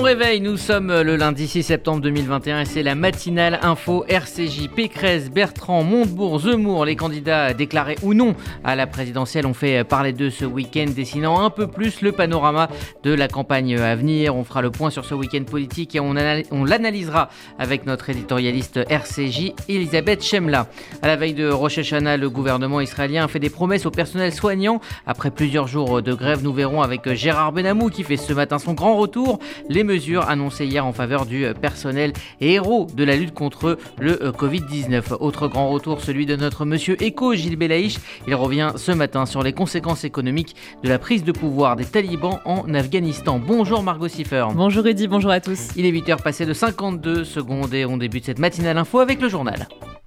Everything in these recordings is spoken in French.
réveil, nous sommes le lundi 6 septembre 2021 et c'est la matinale info RCJ. Pécresse, Bertrand, Montebourg, Zemmour, les candidats déclarés ou non à la présidentielle ont fait parler d'eux ce week-end, dessinant un peu plus le panorama de la campagne à venir. On fera le point sur ce week-end politique et on l'analysera avec notre éditorialiste RCJ, Elisabeth Chemla. À la veille de Rosh Hashanah, le gouvernement israélien a fait des promesses au personnel soignant. Après plusieurs jours de grève, nous verrons avec Gérard Benamou qui fait ce matin son grand retour les mesures annoncées hier en faveur du personnel et héros de la lutte contre le Covid-19. Autre grand retour, celui de notre monsieur éco, Gilles Belaïch. Il revient ce matin sur les conséquences économiques de la prise de pouvoir des talibans en Afghanistan. Bonjour Margot Siffer. Bonjour Rudy, bonjour à tous. Il est 8h passé de 52 secondes et on débute cette matinale info avec le journal.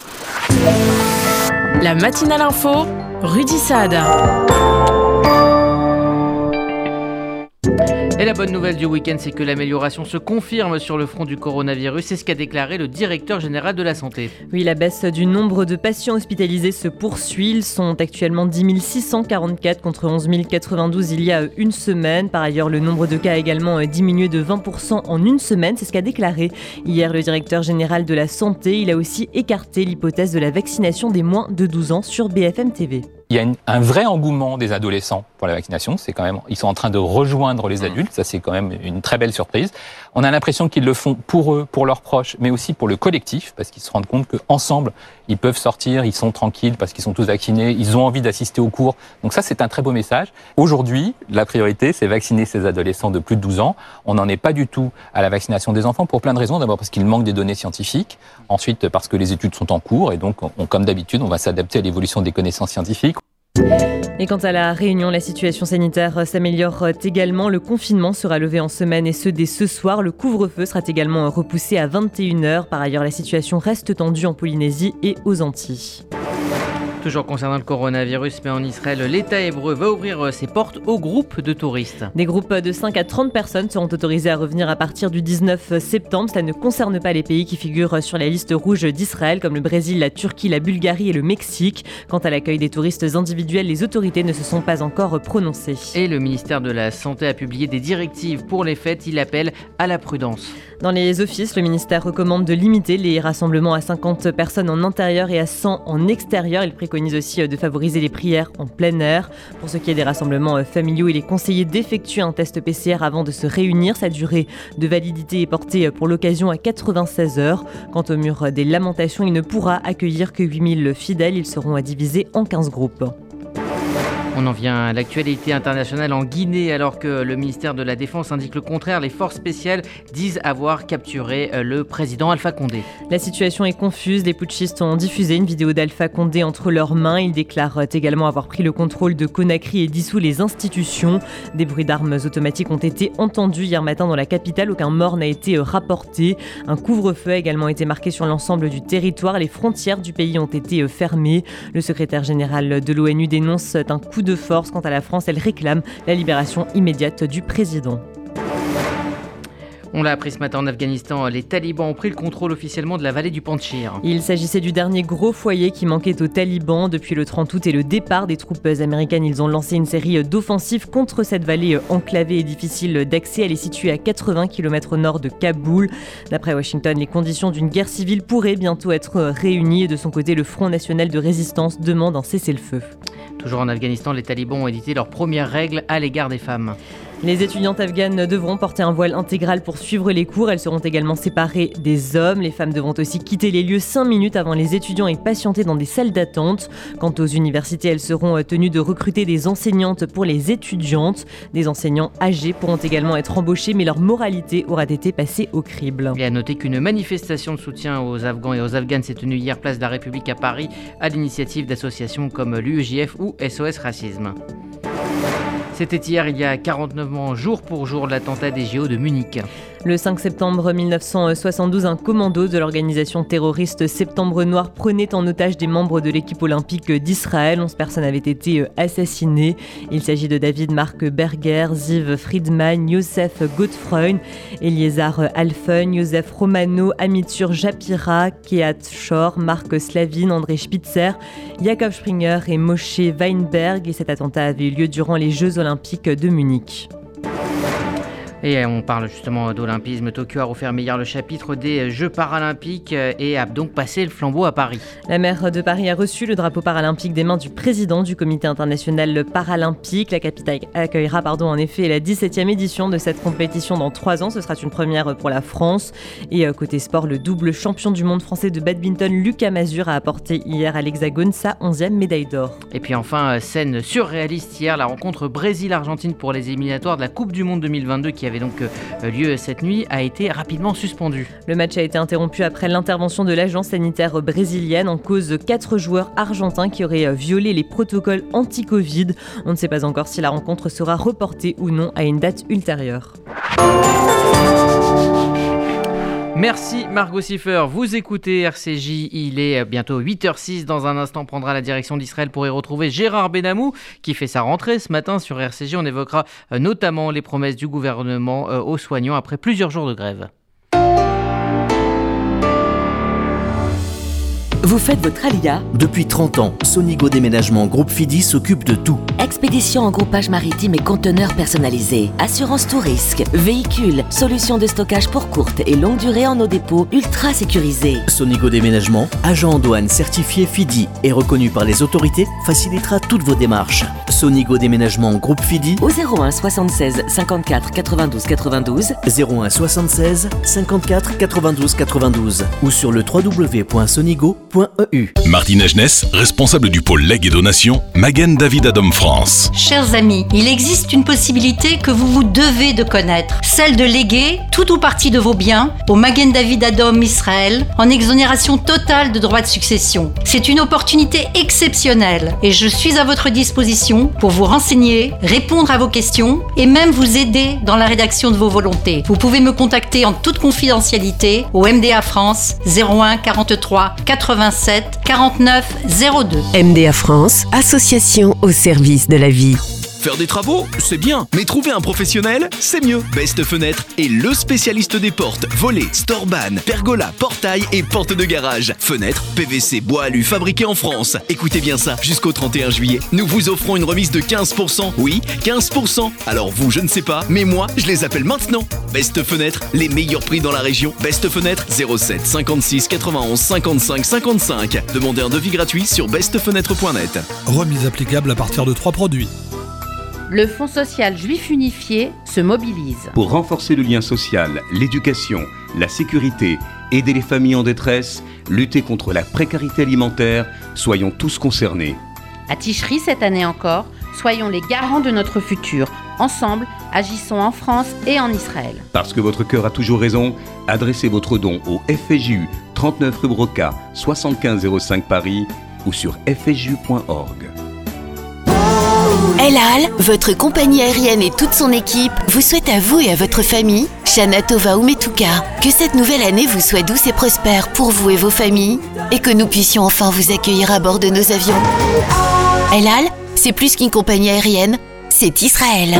La matinale info, Rudy Saad. Et la bonne nouvelle du week-end, c'est que l'amélioration se confirme sur le front du coronavirus. C'est ce qu'a déclaré le directeur général de la santé. Oui, la baisse du nombre de patients hospitalisés se poursuit. Ils sont actuellement 10 644 contre 11 092 il y a une semaine. Par ailleurs, le nombre de cas a également diminué de 20% en une semaine. C'est ce qu'a déclaré hier le directeur général de la santé. Il a aussi écarté l'hypothèse de la vaccination des moins de 12 ans sur BFM TV. Il y a un vrai engouement des adolescents pour la vaccination. C'est quand même, ils sont en train de rejoindre les adultes. Ça, c'est quand même une très belle surprise. On a l'impression qu'ils le font pour eux, pour leurs proches, mais aussi pour le collectif, parce qu'ils se rendent compte qu'ensemble, ils peuvent sortir, ils sont tranquilles parce qu'ils sont tous vaccinés, ils ont envie d'assister aux cours. Donc ça, c'est un très beau message. Aujourd'hui, la priorité, c'est vacciner ces adolescents de plus de 12 ans. On n'en est pas du tout à la vaccination des enfants pour plein de raisons. D'abord parce qu'il manque des données scientifiques. Ensuite, parce que les études sont en cours et donc, comme d'habitude, on va s'adapter à l'évolution des connaissances scientifiques. Et quant à la Réunion, la situation sanitaire s'améliore également. Le confinement sera levé en semaine et ce dès ce soir. Le couvre-feu sera également repoussé à 21h. Par ailleurs, la situation reste tendue en Polynésie et aux Antilles. Toujours concernant le coronavirus, mais en Israël, l'État hébreu va ouvrir ses portes aux groupes de touristes. Des groupes de 5 à 30 personnes seront autorisés à revenir à partir du 19 septembre. Cela ne concerne pas les pays qui figurent sur la liste rouge d'Israël, comme le Brésil, la Turquie, la Bulgarie et le Mexique. Quant à l'accueil des touristes individuels, les autorités ne se sont pas encore prononcées. Et le ministère de la Santé a publié des directives pour les fêtes. Il appelle à la prudence. Dans les offices, le ministère recommande de limiter les rassemblements à 50 personnes en intérieur et à 100 en extérieur. Il préconise aussi de favoriser les prières en plein air. Pour ce qui est des rassemblements familiaux, il est conseillé d'effectuer un test PCR avant de se réunir. Sa durée de validité est portée pour l'occasion à 96 heures. Quant au mur des lamentations, il ne pourra accueillir que 8000 fidèles. Ils seront divisés en 15 groupes. On en vient à l'actualité internationale en Guinée, alors que le ministère de la Défense indique le contraire. Les forces spéciales disent avoir capturé le président Alpha Condé. La situation est confuse. Les putschistes ont diffusé une vidéo d'Alpha Condé entre leurs mains. Ils déclarent également avoir pris le contrôle de Conakry et dissous les institutions. Des bruits d'armes automatiques ont été entendus hier matin dans la capitale. Aucun mort n'a été rapporté. Un couvre-feu a également été marqué sur l'ensemble du territoire. Les frontières du pays ont été fermées. Le secrétaire général de l'ONU dénonce un coup de force. Quant à la France, elle réclame la libération immédiate du président. On l'a appris ce matin en Afghanistan, les talibans ont pris le contrôle officiellement de la vallée du Panjshir. Il s'agissait du dernier gros foyer qui manquait aux talibans. Depuis le 30 août et le départ des troupes américaines, ils ont lancé une série d'offensives contre cette vallée enclavée et difficile d'accès. Elle est située à 80 km au nord de Kaboul. D'après Washington, les conditions d'une guerre civile pourraient bientôt être réunies. De son côté, le Front national de résistance demande un cessez-le-feu. Toujours en Afghanistan, les talibans ont édité leurs premières règles à l'égard des femmes. Les étudiantes afghanes devront porter un voile intégral pour suivre les cours. Elles seront également séparées des hommes. Les femmes devront aussi quitter les lieux 5 minutes avant les étudiants et patienter dans des salles d'attente. Quant aux universités, elles seront tenues de recruter des enseignantes pour les étudiantes. Des enseignants âgés pourront également être embauchés, mais leur moralité aura été passée au crible. Et à noter qu'une manifestation de soutien aux Afghans et aux Afghanes s'est tenue hier place de la République à Paris à l'initiative d'associations comme l'UEJF ou SOS Racisme. C'était hier, il y a 49 ans, jour pour jour, de l'attentat des JO de Munich. Le 5 septembre 1972, un commando de l'organisation terroriste Septembre Noir prenait en otage des membres de l'équipe olympique d'Israël. 11 personnes avaient été assassinées. Il s'agit de David Mark Berger, Ziv Friedman, Youssef Godfreund, Eliezer Halfen, Joseph Romano, Amitur Japira, Kehat Shor, Marc Slavin, André Spitzer, Jakob Springer et Moshe Weinberg. Et cet attentat avait eu lieu durant les Jeux olympiques de Munich. Et on parle justement d'olympisme. Tokyo a refermé hier le chapitre des Jeux paralympiques et a donc passé le flambeau à Paris. La maire de Paris a reçu le drapeau paralympique des mains du président du comité international paralympique. La capitale accueillera en effet la 17e édition de cette compétition dans 3 ans. Ce sera une première pour la France. Et côté sport, le double champion du monde français de badminton, Lucas Mazur, a apporté hier à l'Hexagone sa 11e médaille d'or. Et puis enfin, scène surréaliste hier, la rencontre Brésil-Argentine pour les éliminatoires de la Coupe du Monde 2022 qui avait donc lieu cette nuit a été rapidement suspendue. Le match a été interrompu après l'intervention de l'agence sanitaire brésilienne en cause de 4 joueurs argentins qui auraient violé les protocoles anti-Covid. On ne sait pas encore si la rencontre sera reportée ou non à une date ultérieure. Merci Margot Siffer, vous écoutez RCJ, il est bientôt 8h06, dans un instant on prendra la direction d'Israël pour y retrouver Gérard Benamou qui fait sa rentrée ce matin sur RCJ. On évoquera notamment les promesses du gouvernement aux soignants après plusieurs jours de grève. Vous faites votre alia? Depuis 30 ans, Sonigo Déménagement Groupe Fidi s'occupe de tout. Expédition en groupage maritime et conteneurs personnalisés. Assurance tout risque. Véhicules. Solutions de stockage pour courte et longue durée en nos dépôts ultra sécurisés. Sonigo Déménagement, agent en douane certifié Fidi et reconnu par les autorités, facilitera toutes vos démarches. Sonigo Déménagement Groupe Fidi au 01 76 54 92 92 01 76 54 92 92 ou sur le www.sonigo.eu. Martine Agenès, responsable du pôle legs et donations, Magen David Adom France. Chers amis, il existe une possibilité que vous devez de connaître, celle de léguer tout ou partie de vos biens au Magen David Adom Israël en exonération totale de droits de succession. C'est une opportunité exceptionnelle et je suis à votre disposition pour vous renseigner, répondre à vos questions et même vous aider dans la rédaction de vos volontés. Vous pouvez me contacter en toute confidentialité au MDA France 01 43 87 49 02. MDA France, association au service de la vie. Faire des travaux, c'est bien, mais trouver un professionnel, c'est mieux. Best Fenêtre est le spécialiste des portes, volets, storban, pergolas, portails et portes de garage. Fenêtres, PVC, bois alu, fabriqués en France. Écoutez bien ça, jusqu'au 31 juillet, nous vous offrons une remise de 15%. Oui, 15%. Alors vous, je ne sais pas, mais moi, je les appelle maintenant. Best Fenêtre, les meilleurs prix dans la région. Best Fenêtre, 07 56 91 55 55. Demandez un devis gratuit sur bestfenêtre.net. Remise applicable à partir de 3 produits. Le Fonds social juif unifié se mobilise. Pour renforcer le lien social, l'éducation, la sécurité, aider les familles en détresse, lutter contre la précarité alimentaire, soyons tous concernés. À Ticherie, cette année encore, soyons les garants de notre futur. Ensemble, agissons en France et en Israël. Parce que votre cœur a toujours raison, adressez votre don au FSJU 39 rue Broca, 7505 Paris ou sur fsju.org. El Al, votre compagnie aérienne et toute son équipe vous souhaitent à vous et à votre famille, Shana Tova Umetuka, que cette nouvelle année vous soit douce et prospère pour vous et vos familles et que nous puissions enfin vous accueillir à bord de nos avions. El Al, c'est plus qu'une compagnie aérienne, c'est Israël.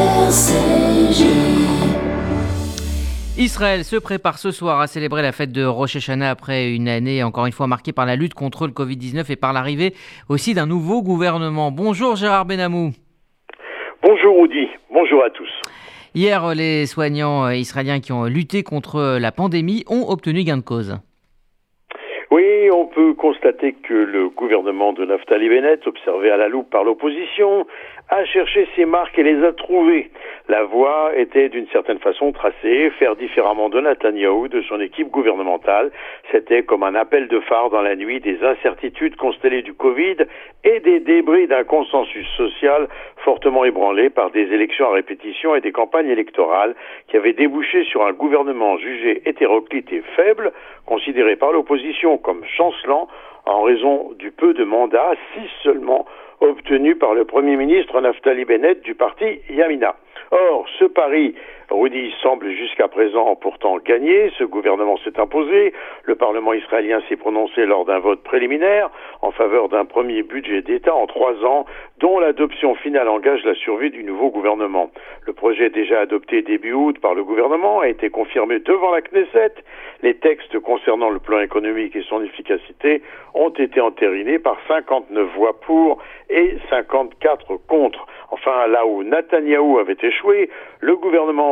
Israël se prépare ce soir à célébrer la fête de Rosh Hashanah après une année encore une fois marquée par la lutte contre le Covid-19 et par l'arrivée aussi d'un nouveau gouvernement. Bonjour Gérard Benamou. Bonjour Audi, bonjour à tous. Hier, les soignants israéliens qui ont lutté contre la pandémie ont obtenu gain de cause. Oui, on peut constater que le gouvernement de Naftali Bennett, observé à la loupe par l'opposition, a cherché ses marques et les a trouvées. La voie était d'une certaine façon tracée, faire différemment de Netanyahou, de son équipe gouvernementale. C'était comme un appel de phare dans la nuit des incertitudes constellées du Covid et des débris d'un consensus social fortement ébranlé par des élections à répétition et des campagnes électorales qui avaient débouché sur un gouvernement jugé hétéroclite et faible, considéré par l'opposition comme chancelant en raison du peu de mandats, 6 seulement, obtenus par le Premier ministre Naftali Bennett du parti Yamina. Or, ce pari, Rudy, semble jusqu'à présent pourtant gagné. Ce gouvernement s'est imposé. Le Parlement israélien s'est prononcé lors d'un vote préliminaire en faveur d'un premier budget d'État en 3 ans, dont l'adoption finale engage la survie du nouveau gouvernement. Le projet déjà adopté début août par le gouvernement a été confirmé devant la Knesset. Les textes concernant le plan économique et son efficacité ont été entérinés par 59 voix pour et 54 contre. Enfin, là où Netanyahou avait échoué, le gouvernement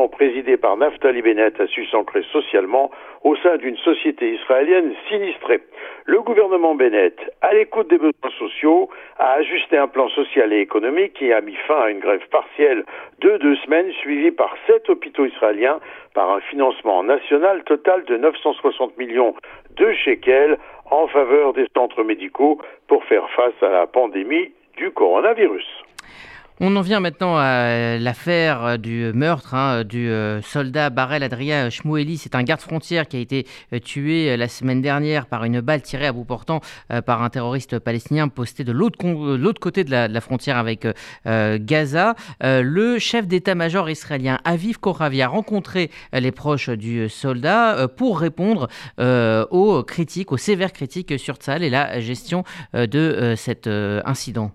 gouvernement présidé par Naftali Bennett a su s'ancrer socialement au sein d'une société israélienne sinistrée. Le gouvernement Bennett, à l'écoute des besoins sociaux, a ajusté un plan social et économique qui a mis fin à une grève partielle de 2 semaines suivie par 7 hôpitaux israéliens par un financement national total de 960 millions de shekels en faveur des centres médicaux pour faire face à la pandémie du coronavirus. On en vient maintenant à l'affaire du meurtre du soldat Barel Adria Shmueli. C'est un garde-frontière qui a été tué la semaine dernière par une balle tirée à bout portant par un terroriste palestinien posté de l'autre côté de la frontière avec Gaza. Le chef d'état-major israélien Aviv Koravi a rencontré les proches du soldat pour répondre aux critiques, aux sévères critiques sur Tsahal et la gestion de cet incident.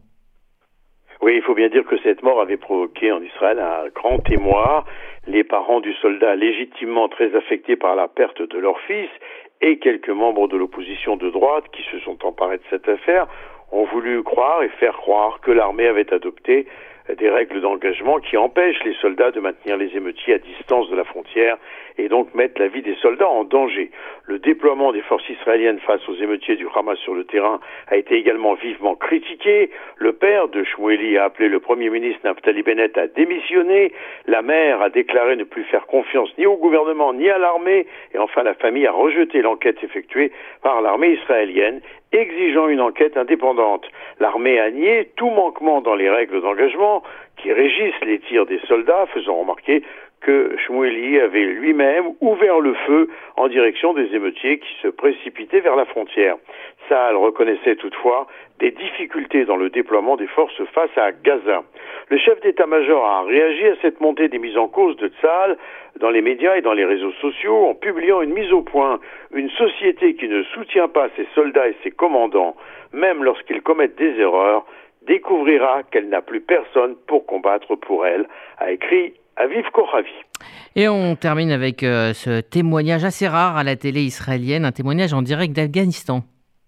Oui, il faut bien dire que cette mort avait provoqué en Israël un grand émoi. Les parents du soldat, légitimement très affectés par la perte de leur fils, et quelques membres de l'opposition de droite qui se sont emparés de cette affaire, ont voulu croire et faire croire que l'armée avait adopté des règles d'engagement qui empêchent les soldats de maintenir les émeutiers à distance de la frontière et donc mettent la vie des soldats en danger. Le déploiement des forces israéliennes face aux émeutiers du Hamas sur le terrain a été également vivement critiqué. Le père de Shmueli a appelé le Premier ministre Naftali Bennett à démissionner. La mère a déclaré ne plus faire confiance ni au gouvernement ni à l'armée. Et enfin, la famille a rejeté l'enquête effectuée par l'armée israélienne, exigeant une enquête indépendante. L'armée a nié tout manquement dans les règles d'engagement qui régissent les tirs des soldats, faisant remarquer que Shmueli avait lui-même ouvert le feu en direction des émeutiers qui se précipitaient vers la frontière. Tsahal reconnaissait toutefois des difficultés dans le déploiement des forces face à Gaza. Le chef d'état-major a réagi à cette montée des mises en cause de Tsahal dans les médias et dans les réseaux sociaux en publiant une mise au point. Une société qui ne soutient pas ses soldats et ses commandants, même lorsqu'ils commettent des erreurs, découvrira qu'elle n'a plus personne pour combattre pour elle, a écrit Aviv Koravi. Et on termine avec ce témoignage assez rare à la télé israélienne, un témoignage en direct d'Afghanistan.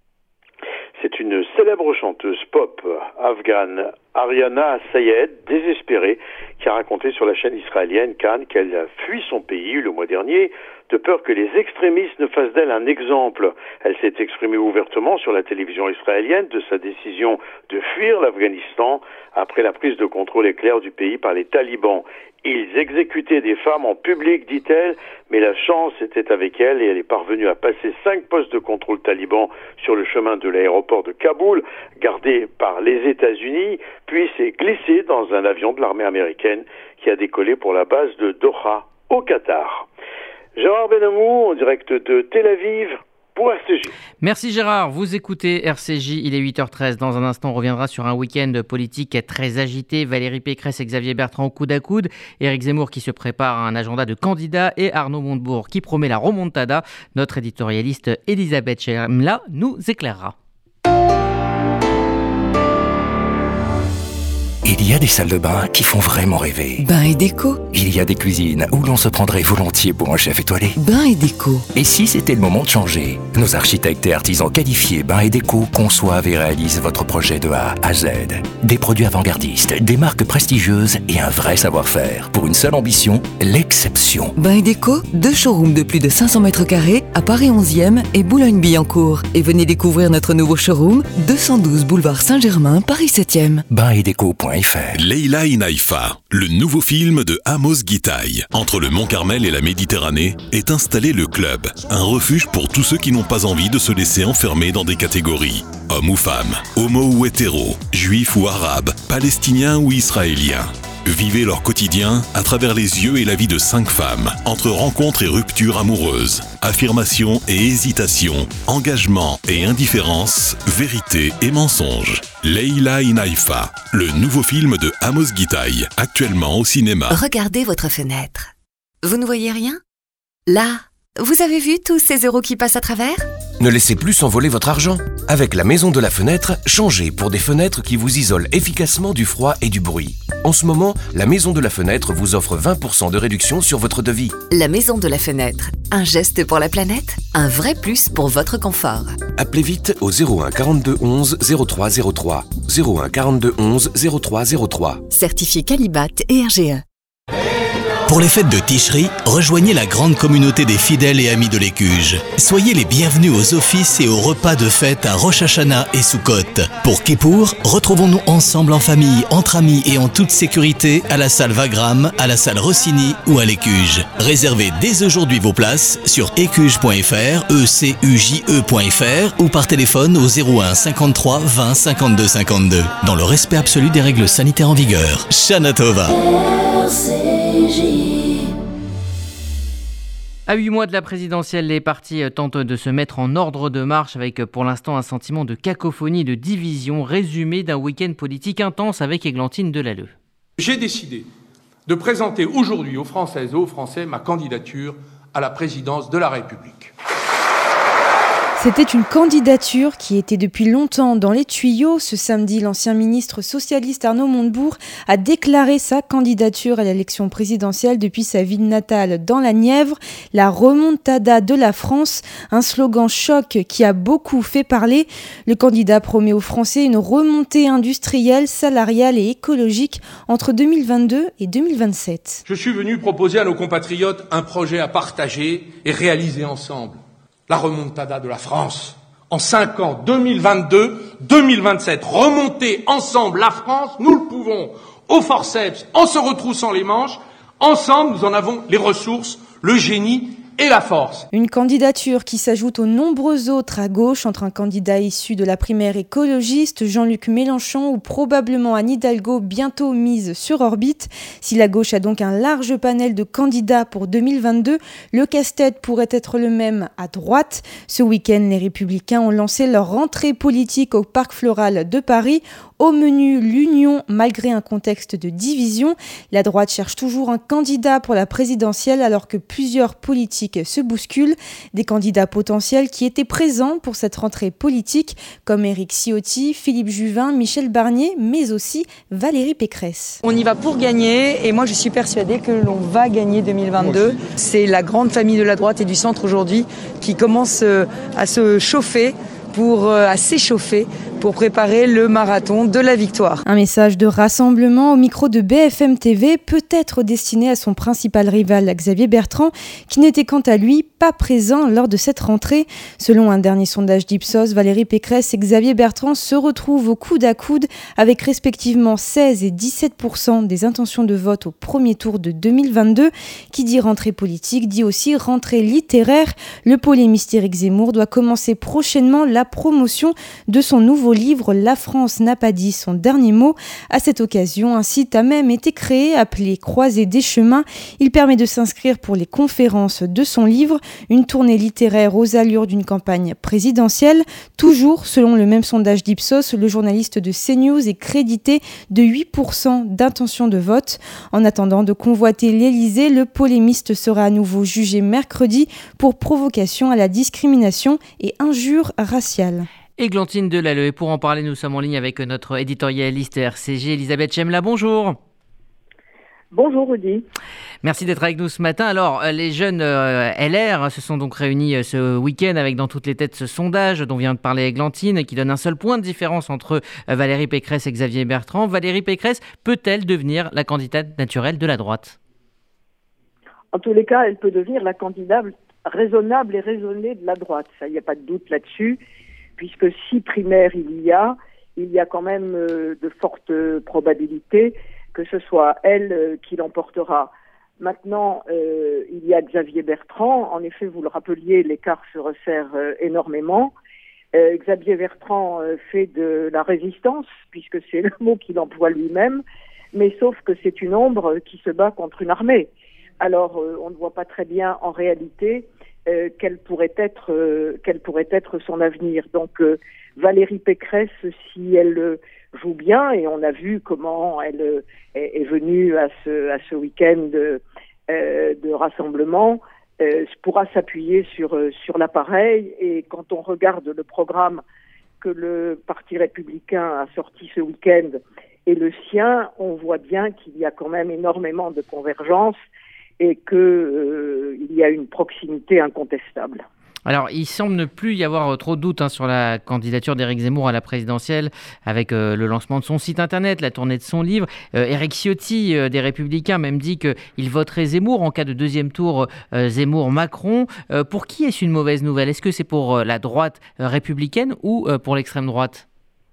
C'est une célèbre chanteuse pop afghane, Ariana Sayed, désespérée, qui a raconté sur la chaîne israélienne Cannes qu'elle a fui son pays le mois dernier de peur que les extrémistes ne fassent d'elle un exemple. Elle s'est exprimée ouvertement sur la télévision israélienne de sa décision de fuir l'Afghanistan après la prise de contrôle éclair du pays par les talibans. Ils exécutaient des femmes en public, dit-elle, mais la chance était avec elle et elle est parvenue à passer 5 postes de contrôle talibans sur le chemin de l'aéroport de Kaboul, gardé par les États-Unis, puis s'est glissée dans un avion de l'armée américaine qui a décollé pour la base de Doha, au Qatar. Gérard Benamou, en direct de Tel Aviv, pour RCJ. Merci Gérard, vous écoutez RCJ, il est 8h13. Dans un instant, on reviendra sur un week-end politique très agité. Valérie Pécresse et Xavier Bertrand coude à coude. Éric Zemmour qui se prépare à un agenda de candidats et Arnaud Montebourg qui promet la remontada. Notre éditorialiste Elisabeth Chemla nous éclairera. Il y a des salles de bain qui font vraiment rêver. Bain et déco. Il y a des cuisines où l'on se prendrait volontiers pour un chef étoilé. Bain et déco. Et si c'était le moment de changer? Nos architectes et artisans qualifiés Bain et Déco conçoivent et réalisent votre projet de A à Z. Des produits avant-gardistes, des marques prestigieuses et un vrai savoir-faire. Pour une seule ambition, l'exception. Bain et Déco, 2 showrooms de plus de 500 mètres carrés à Paris 11e et Boulogne-Billancourt. Et venez découvrir notre nouveau showroom, 212 boulevard Saint-Germain, Paris 7e. Bainetdeco.fr. Leila in Haïfa, le nouveau film de Amos Gitaï. Entre le Mont Carmel et la Méditerranée est installé le Club, un refuge pour tous ceux qui n'ont pas envie de se laisser enfermer dans des catégories. Hommes ou femmes, homo ou hétéro, juifs ou arabes, palestiniens ou israéliens. Vivez leur quotidien à travers les yeux et la vie de 5 femmes, entre rencontres et ruptures amoureuses, affirmation et hésitation, engagement et indifférence, vérité et mensonge. Leila in Haïfa, le nouveau film de Amos Gitaï, actuellement au cinéma. Regardez votre fenêtre. Vous ne voyez rien? Là, vous avez vu tous ces euros qui passent à travers? Ne laissez plus s'envoler votre argent. Avec la Maison de la Fenêtre, changez pour des fenêtres qui vous isolent efficacement du froid et du bruit. En ce moment, la Maison de la Fenêtre vous offre 20% de réduction sur votre devis. La Maison de la Fenêtre. Un geste pour la planète, un vrai plus pour votre confort. Appelez vite au 01 42 11 03 03. 01 42 11 03 03. Certifié Qualibat et RGE. Pour les fêtes de Ticherie, rejoignez la grande communauté des fidèles et amis de l'Écuge. Soyez les bienvenus aux offices et aux repas de fête à Rosh Hashanah et Sukkot. Pour Kippour, retrouvons-nous ensemble en famille, entre amis et en toute sécurité à la salle Wagram, à la salle Rossini ou à l'Écuge. Réservez dès aujourd'hui vos places sur écuge.fr, ecuje.fr ou par téléphone au 01 53 20 52 52. Dans le respect absolu des règles sanitaires en vigueur. Shana Tova. À 8 mois de la présidentielle, les partis tentent de se mettre en ordre de marche avec pour l'instant un sentiment de cacophonie et de division résumé d'un week-end politique intense avec Églantine Delalleux. J'ai décidé de présenter aujourd'hui aux Françaises et aux Français ma candidature à la présidence de la République. C'était une candidature qui était depuis longtemps dans les tuyaux. Ce samedi, l'ancien ministre socialiste Arnaud Montebourg a déclaré sa candidature à l'élection présidentielle depuis sa ville natale dans la Nièvre. La remontada de la France, un slogan choc qui a beaucoup fait parler. Le candidat promet aux Français une remontée industrielle, salariale et écologique entre 2022 et 2027. Je suis venu proposer à nos compatriotes un projet à partager et réaliser ensemble. La remontada de la France. En 5 ans, 2022-2027, remonter ensemble la France, nous le pouvons, au forceps, en se retroussant les manches. Ensemble, nous en avons les ressources, le génie et la force. Une candidature qui s'ajoute aux nombreux autres à gauche, entre un candidat issu de la primaire écologiste, Jean-Luc Mélenchon ou probablement Anne Hidalgo, bientôt mise sur orbite. Si la gauche a donc un large panel de candidats pour 2022, le casse-tête pourrait être le même à droite. Ce week-end, les Républicains ont lancé leur rentrée politique au Parc Floral de Paris. Au menu, l'union, malgré un contexte de division. La droite cherche toujours un candidat pour la présidentielle alors que plusieurs politiques se bousculent. Des candidats potentiels qui étaient présents pour cette rentrée politique, comme Éric Ciotti, Philippe Juvin, Michel Barnier, mais aussi Valérie Pécresse. On y va pour gagner et moi je suis persuadée que l'on va gagner 2022. C'est la grande famille de la droite et du centre aujourd'hui qui commence à se chauffer, à s'échauffer pour préparer le marathon de la victoire. Un message de rassemblement au micro de BFM TV, peut-être destiné à son principal rival, Xavier Bertrand, qui n'était quant à lui pas présent lors de cette rentrée. Selon un dernier sondage d'Ipsos, Valérie Pécresse et Xavier Bertrand se retrouvent au coude à coude avec respectivement 16 et 17% des intentions de vote au premier tour de 2022. Qui dit rentrée politique dit aussi rentrée littéraire. Le polémiste Éric Zemmour doit commencer prochainement la promotion de son nouveau livre « La France n'a pas dit son dernier mot ». À cette occasion, un site a même été créé appelé Croisée des chemins. Il permet de s'inscrire pour les conférences de son livre, une tournée littéraire aux allures d'une campagne présidentielle. Toujours, selon le même sondage d'Ipsos, le journaliste de CNews est crédité de 8% d'intention de vote. En attendant de convoiter l'Élysée, le polémiste sera à nouveau jugé mercredi pour provocation à la discrimination et injure raciale. Églantine Delalleux, et pour en parler, nous sommes en ligne avec notre éditorialiste RCG, Elisabeth Chemla. Bonjour. Bonjour Rudy. Merci d'être avec nous ce matin. Alors, les jeunes LR se sont donc réunis ce week-end avec dans toutes les têtes ce sondage dont vient de parler Églantine, qui donne un seul point de différence entre Valérie Pécresse et Xavier Bertrand. Valérie Pécresse peut-elle devenir la candidate naturelle de la droite ? En tous les cas, elle peut devenir la candidate raisonnable et raisonnée de la droite. Ça, il n'y a pas de doute là-dessus, puisque si primaire il y a quand même de fortes probabilités que ce soit elle qui l'emportera. Maintenant, il y a Xavier Bertrand. En effet, vous le rappeliez, l'écart se resserre énormément. Xavier Bertrand fait de la résistance, puisque c'est le mot qu'il emploie lui-même, mais sauf que c'est une ombre qui se bat contre une armée. Alors, on ne voit pas très bien en réalité quel pourrait être son avenir. Donc, Valérie Pécresse, si elle joue bien, et on a vu comment elle est venue à ce week-end de rassemblement, pourra s'appuyer sur l'appareil. Et quand on regarde le programme que le Parti républicain a sorti ce week-end et le sien, on voit bien qu'il y a quand même énormément de convergence et qu'il y a une proximité incontestable. Alors, il semble ne plus y avoir trop de doutes sur la candidature d'Éric Zemmour à la présidentielle avec le lancement de son site internet, la tournée de son livre. Éric Ciotti des Républicains même dit qu'il voterait Zemmour en cas de deuxième tour Zemmour-Macron. Pour qui est-ce une mauvaise nouvelle ? Est-ce que c'est pour la droite républicaine ou pour l'extrême droite ?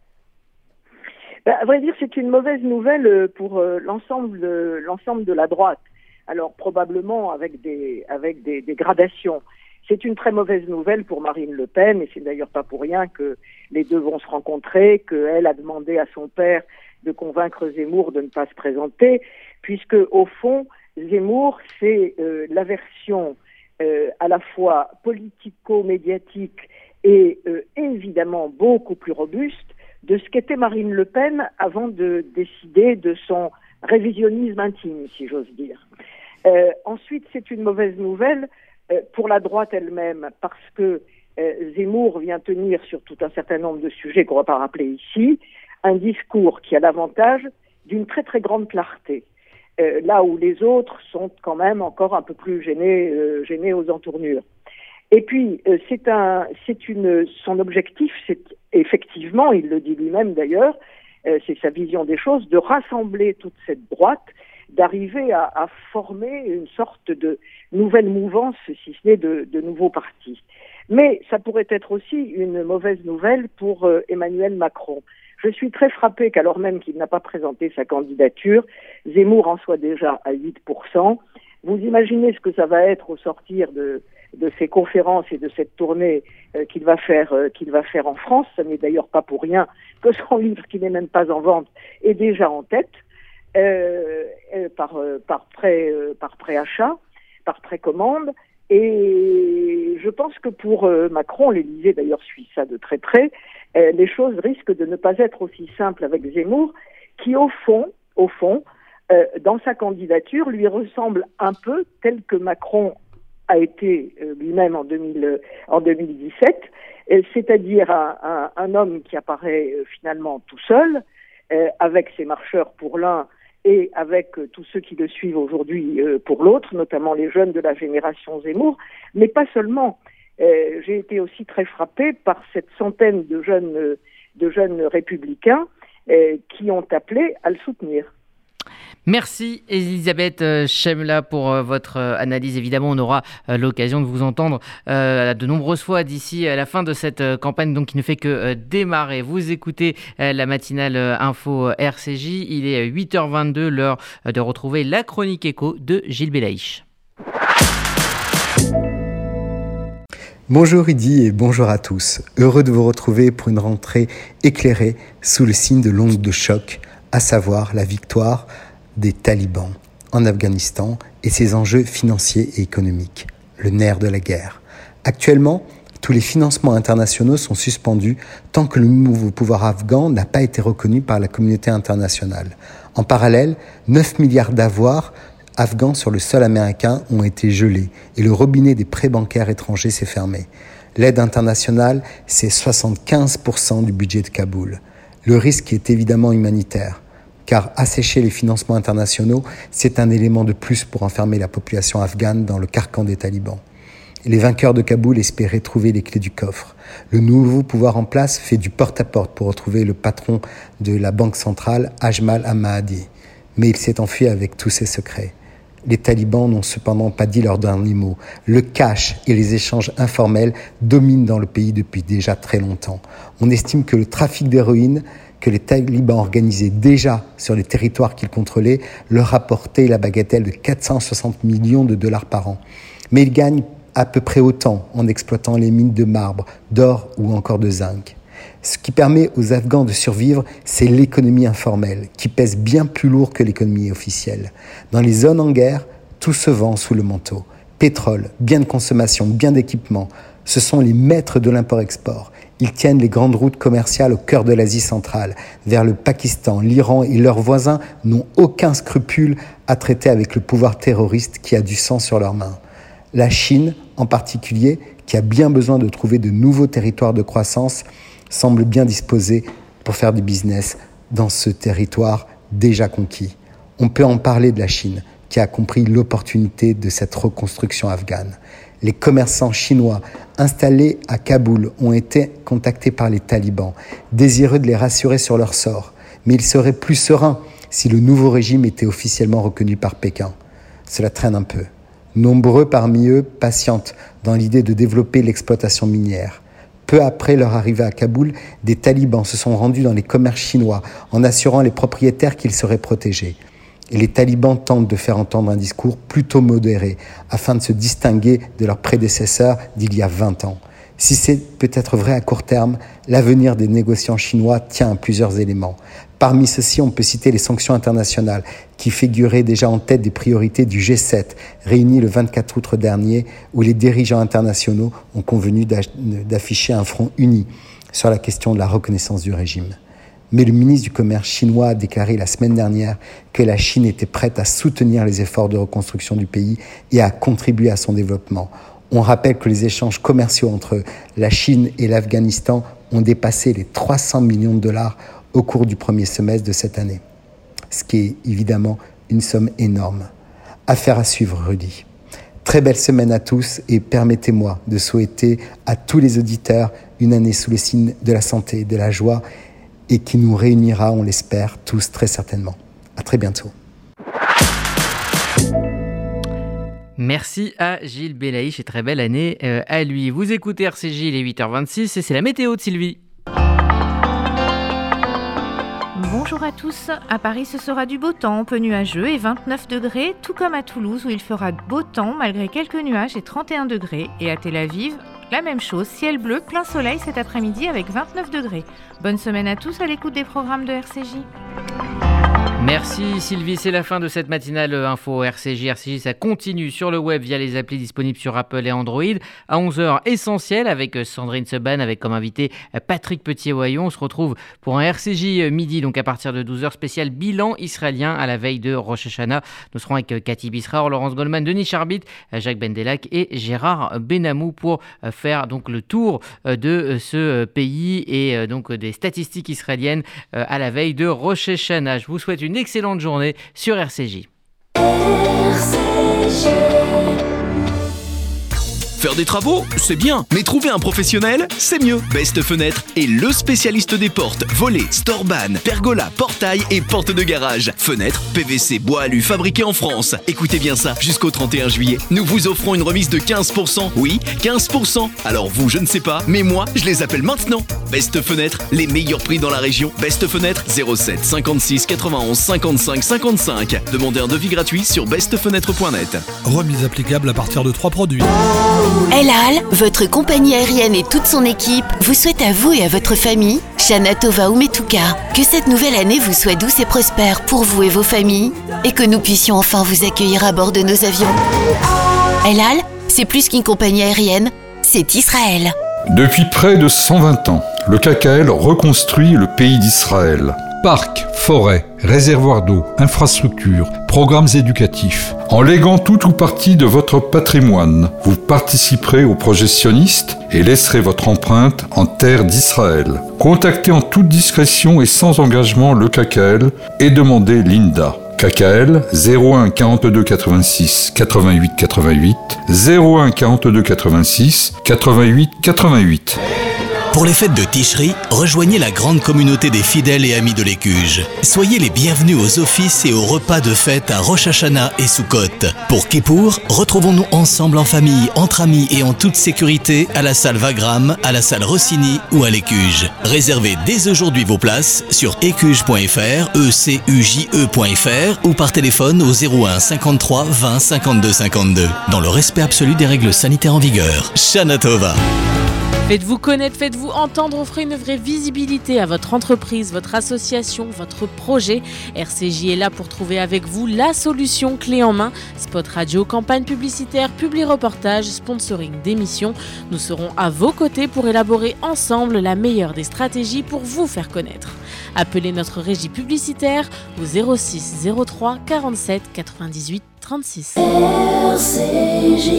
À vrai dire, c'est une mauvaise nouvelle pour l'ensemble de la droite. Alors probablement avec des gradations. C'est une très mauvaise nouvelle pour Marine Le Pen, et c'est d'ailleurs pas pour rien que les deux vont se rencontrer, qu'elle a demandé à son père de convaincre Zemmour de ne pas se présenter, puisque au fond, Zemmour, c'est la version à la fois politico-médiatique et évidemment beaucoup plus robuste de ce qu'était Marine Le Pen avant de décider de son révisionnisme intime, si j'ose dire. Ensuite, c'est une mauvaise nouvelle pour la droite elle-même, parce que Zemmour vient tenir sur tout un certain nombre de sujets qu'on ne va pas rappeler ici, un discours qui a l'avantage d'une très très grande clarté, là où les autres sont quand même encore un peu plus gênés aux entournures. Et puis, son objectif, c'est effectivement, il le dit lui-même d'ailleurs, c'est sa vision des choses, de rassembler toute cette droite, d'arriver à former une sorte de nouvelle mouvance, si ce n'est de nouveaux partis. Mais ça pourrait être aussi une mauvaise nouvelle pour Emmanuel Macron. Je suis très frappée qu'alors même qu'il n'a pas présenté sa candidature, Zemmour en soit déjà à 8%. Vous imaginez ce que ça va être au sortir de ces conférences et de cette tournée qu'il va faire en France. Ça n'est d'ailleurs pas pour rien que son livre, qui n'est même pas en vente, est déjà en tête. Par préachat, par précommande, et je pense que pour Macron, l'Élysée d'ailleurs suit ça de très près, les choses risquent de ne pas être aussi simples avec Zemmour, qui au fond, dans sa candidature, lui ressemble un peu tel que Macron a été lui-même en 2017, c'est-à-dire un homme qui apparaît finalement tout seul, avec ses marcheurs pour l'un et avec tous ceux qui le suivent aujourd'hui pour l'autre, notamment les jeunes de la génération Zemmour, mais pas seulement. J'ai été aussi très frappée par cette centaine de jeunes républicains qui ont appelé à le soutenir. Merci Elisabeth Chemla pour votre analyse. Évidemment, on aura l'occasion de vous entendre de nombreuses fois d'ici à la fin de cette campagne, donc qui ne fait que démarrer. Vous écoutez la matinale info RCJ. Il est 8h22, l'heure de retrouver la chronique éco de Gilles Belaïch. Bonjour Rudy et bonjour à tous. Heureux de vous retrouver pour une rentrée éclairée sous le signe de l'onde de choc, à savoir la victoire des talibans en Afghanistan et ses enjeux financiers et économiques, le nerf de la guerre. Actuellement, tous les financements internationaux sont suspendus tant que le nouveau pouvoir afghan n'a pas été reconnu par la communauté internationale. En parallèle, 9 milliards d'avoirs afghans sur le sol américain ont été gelés et le robinet des prêts bancaires étrangers s'est fermé. L'aide internationale, c'est 75% du budget de Kaboul. Le risque est évidemment humanitaire, car assécher les financements internationaux, c'est un élément de plus pour enfermer la population afghane dans le carcan des talibans. Les vainqueurs de Kaboul espéraient trouver les clés du coffre. Le nouveau pouvoir en place fait du porte-à-porte pour retrouver le patron de la banque centrale, Ajmal Ahmadi. Mais il s'est enfui avec tous ses secrets. Les talibans n'ont cependant pas dit leur dernier mot. Le cash et les échanges informels dominent dans le pays depuis déjà très longtemps. On estime que le trafic d'héroïne que les talibans organisaient déjà sur les territoires qu'ils contrôlaient leur rapportait la bagatelle de 460 millions de dollars par an. Mais ils gagnent à peu près autant en exploitant les mines de marbre, d'or ou encore de zinc. Ce qui permet aux Afghans de survivre, c'est l'économie informelle, qui pèse bien plus lourd que l'économie officielle. Dans les zones en guerre, tout se vend sous le manteau. Pétrole, biens de consommation, biens d'équipement, ce sont les maîtres de l'import-export. Ils tiennent les grandes routes commerciales au cœur de l'Asie centrale, vers le Pakistan, l'Iran et leurs voisins n'ont aucun scrupule à traiter avec le pouvoir terroriste qui a du sang sur leurs mains. La Chine, en particulier, qui a bien besoin de trouver de nouveaux territoires de croissance, semble bien disposée pour faire du business dans ce territoire déjà conquis. On peut en parler de la Chine, qui a compris l'opportunité de cette reconstruction afghane. Les commerçants chinois installés à Kaboul ont été contactés par les talibans, désireux de les rassurer sur leur sort. Mais ils seraient plus sereins si le nouveau régime était officiellement reconnu par Pékin. Cela traîne un peu. Nombreux parmi eux patientent dans l'idée de développer l'exploitation minière. Peu après leur arrivée à Kaboul, des talibans se sont rendus dans les commerces chinois en assurant les propriétaires qu'ils seraient protégés. Et les talibans tentent de faire entendre un discours plutôt modéré afin de se distinguer de leurs prédécesseurs d'il y a 20 ans. Si c'est peut-être vrai à court terme, l'avenir des négociants chinois tient à plusieurs éléments. Parmi ceux-ci, on peut citer les sanctions internationales qui figuraient déjà en tête des priorités du G7, réuni le 24 août dernier, où les dirigeants internationaux ont convenu d'afficher un front uni sur la question de la reconnaissance du régime. Mais le ministre du Commerce chinois a déclaré la semaine dernière que la Chine était prête à soutenir les efforts de reconstruction du pays et à contribuer à son développement. On rappelle que les échanges commerciaux entre la Chine et l'Afghanistan ont dépassé les 300 millions de dollars au cours du premier semestre de cette année. Ce qui est évidemment une somme énorme. Affaire à suivre, Rudy. Très belle semaine à tous et permettez-moi de souhaiter à tous les auditeurs une année sous le signe de la santé, de la joie et qui nous réunira, on l'espère, tous très certainement. À très bientôt. Merci à Gilles Belaïch et très belle année à lui. Vous écoutez RCJ, il est 8h26 et c'est la météo de Sylvie. Bonjour à tous, à Paris ce sera du beau temps, peu nuageux et 29 degrés, tout comme à Toulouse où il fera beau temps malgré quelques nuages et 31 degrés. Et à Tel Aviv, la même chose, ciel bleu, plein soleil cet après-midi avec 29 degrés. Bonne semaine à tous à l'écoute des programmes de RCJ. Merci Sylvie, c'est la fin de cette matinale info RCJ. RCJ, ça continue sur le web via les applis disponibles sur Apple et Android. À 11h, Essentiel avec Sandrine Seban, avec comme invité Patrick Petit-Oyon. On se retrouve pour un RCJ midi, donc à partir de 12h, spécial bilan israélien à la veille de Rosh Hashanah. Nous serons avec Cathy Bisraor, Laurence Goldman, Denis Charbit, Jacques Bendelac et Gérard Benamou pour faire donc le tour de ce pays et donc des statistiques israéliennes à la veille de Rosh Hashanah. Je vous souhaite une excellente journée sur RCJ. Faire des travaux, c'est bien, mais trouver un professionnel, c'est mieux. Best Fenêtre est le spécialiste des portes, volets, storban, pergola, portail et portes de garage. Fenêtres, PVC, bois alu fabriqués en France. Écoutez bien ça, jusqu'au 31 juillet, nous vous offrons une remise de 15%. Oui, 15%. Alors vous, je ne sais pas, mais moi, je les appelle maintenant. Best Fenêtre, les meilleurs prix dans la région. Best Fenêtre, 07 56 91 55 55. Demandez un devis gratuit sur bestfenêtre.net. Remise applicable à partir de 3 produits. El Al, votre compagnie aérienne et toute son équipe vous souhaitent à vous et à votre famille, Shana Tova Umetuka, que cette nouvelle année vous soit douce et prospère pour vous et vos familles et que nous puissions enfin vous accueillir à bord de nos avions. El Al, c'est plus qu'une compagnie aérienne, c'est Israël. Depuis près de 120 ans, le KKL reconstruit le pays d'Israël. Parcs, forêts, réservoirs d'eau, infrastructures, programmes éducatifs. En léguant tout ou partie de votre patrimoine, vous participerez au projet sioniste et laisserez votre empreinte en terre d'Israël. Contactez en toute discrétion et sans engagement le KKL et demandez l'INDA. KKL 01 42 86 88 88 01 42 86 88 88. Pour les fêtes de Tishri, rejoignez la grande communauté des fidèles et amis de l'Écuge. Soyez les bienvenus aux offices et aux repas de fête à Rosh Hashanah et Sukkot. Pour Kippour, retrouvons-nous ensemble en famille, entre amis et en toute sécurité à la salle Wagram, à la salle Rossini ou à l'Écuge. Réservez dès aujourd'hui vos places sur écuge.fr, ecuje.fr ou par téléphone au 01 53 20 52 52. Dans le respect absolu des règles sanitaires en vigueur. Shana Tova. Faites-vous connaître, faites-vous entendre, offrez une vraie visibilité à votre entreprise, votre association, votre projet. RCJ est là pour trouver avec vous la solution clé en main. Spot radio, campagne publicitaire, publi-reportage, sponsoring d'émissions. Nous serons à vos côtés pour élaborer ensemble la meilleure des stratégies pour vous faire connaître. Appelez notre régie publicitaire au 06 03 47 98 36. RCJ.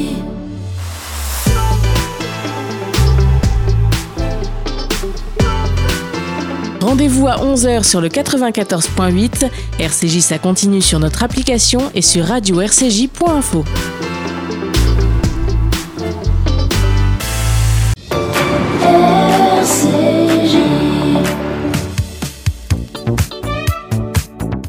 Rendez-vous à 11h sur le 94.8. RCJ, ça continue sur notre application et sur radio-rcj.info.